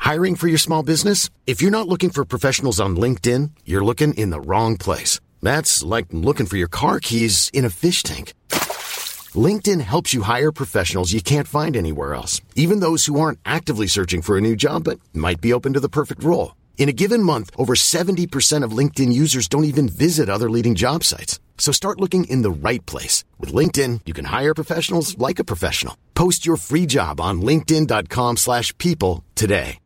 Hiring for your small business? If you're not looking for professionals on LinkedIn, you're looking in the wrong place. That's like looking for your car keys in a fish tank. LinkedIn helps you hire professionals you can't find anywhere else, even those who aren't actively searching for a new job but might be open to the perfect role. In a given month, over 70% of LinkedIn users don't even visit other leading job sites. So start looking in the right place. With LinkedIn, you can hire professionals like a professional. Post your free job on linkedin.com/people today.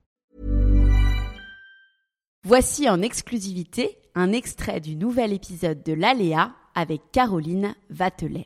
Voici en exclusivité un extrait du nouvel épisode de l'Aléa avec Caroline Vatelet.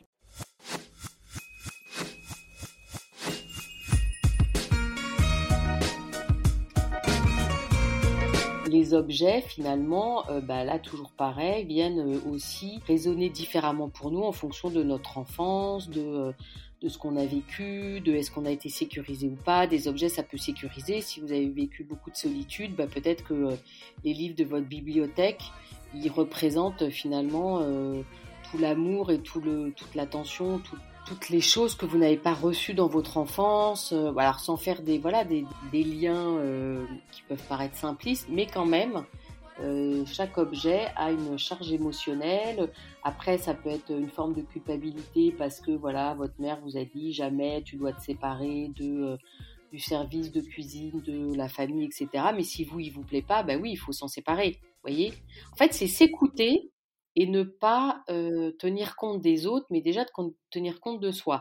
Les objets, finalement, là, toujours pareil, viennent aussi résonner différemment pour nous en fonction de notre enfance, de ce qu'on a vécu, de est-ce qu'on a été sécurisé ou pas. Des objets, ça peut sécuriser. Si vous avez vécu beaucoup de solitude, peut-être que les livres de votre bibliothèque, ils représentent finalement tout l'amour et toute l'attention, toutes les choses que vous n'avez pas reçues dans votre enfance, alors sans faire des liens qui peuvent paraître simplistes, mais quand même, chaque objet a une charge émotionnelle. Après, ça peut être une forme de culpabilité parce que votre mère vous a dit jamais tu dois te séparer du service de cuisine, de la famille, etc. Mais si il vous plaît pas, oui, il faut s'en séparer. Voyez ? En fait, c'est s'écouter et ne pas tenir compte des autres, mais déjà de tenir compte de soi.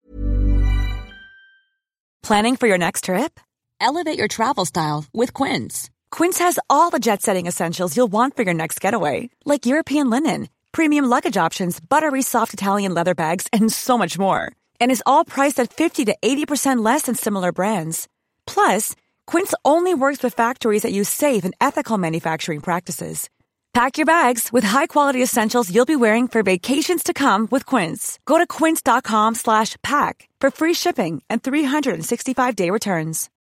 Planning for your next trip? Elevate your travel style with Quince. Quince has all the jet-setting essentials you'll want for your next getaway, like European linen, premium luggage options, buttery soft Italian leather bags, and so much more. And is all priced at 50 to 80% less than similar brands. Plus, Quince only works with factories that use safe and ethical manufacturing practices. Pack your bags with high-quality essentials you'll be wearing for vacations to come with Quince. Go to quince.com/pack for free shipping and 365-day returns.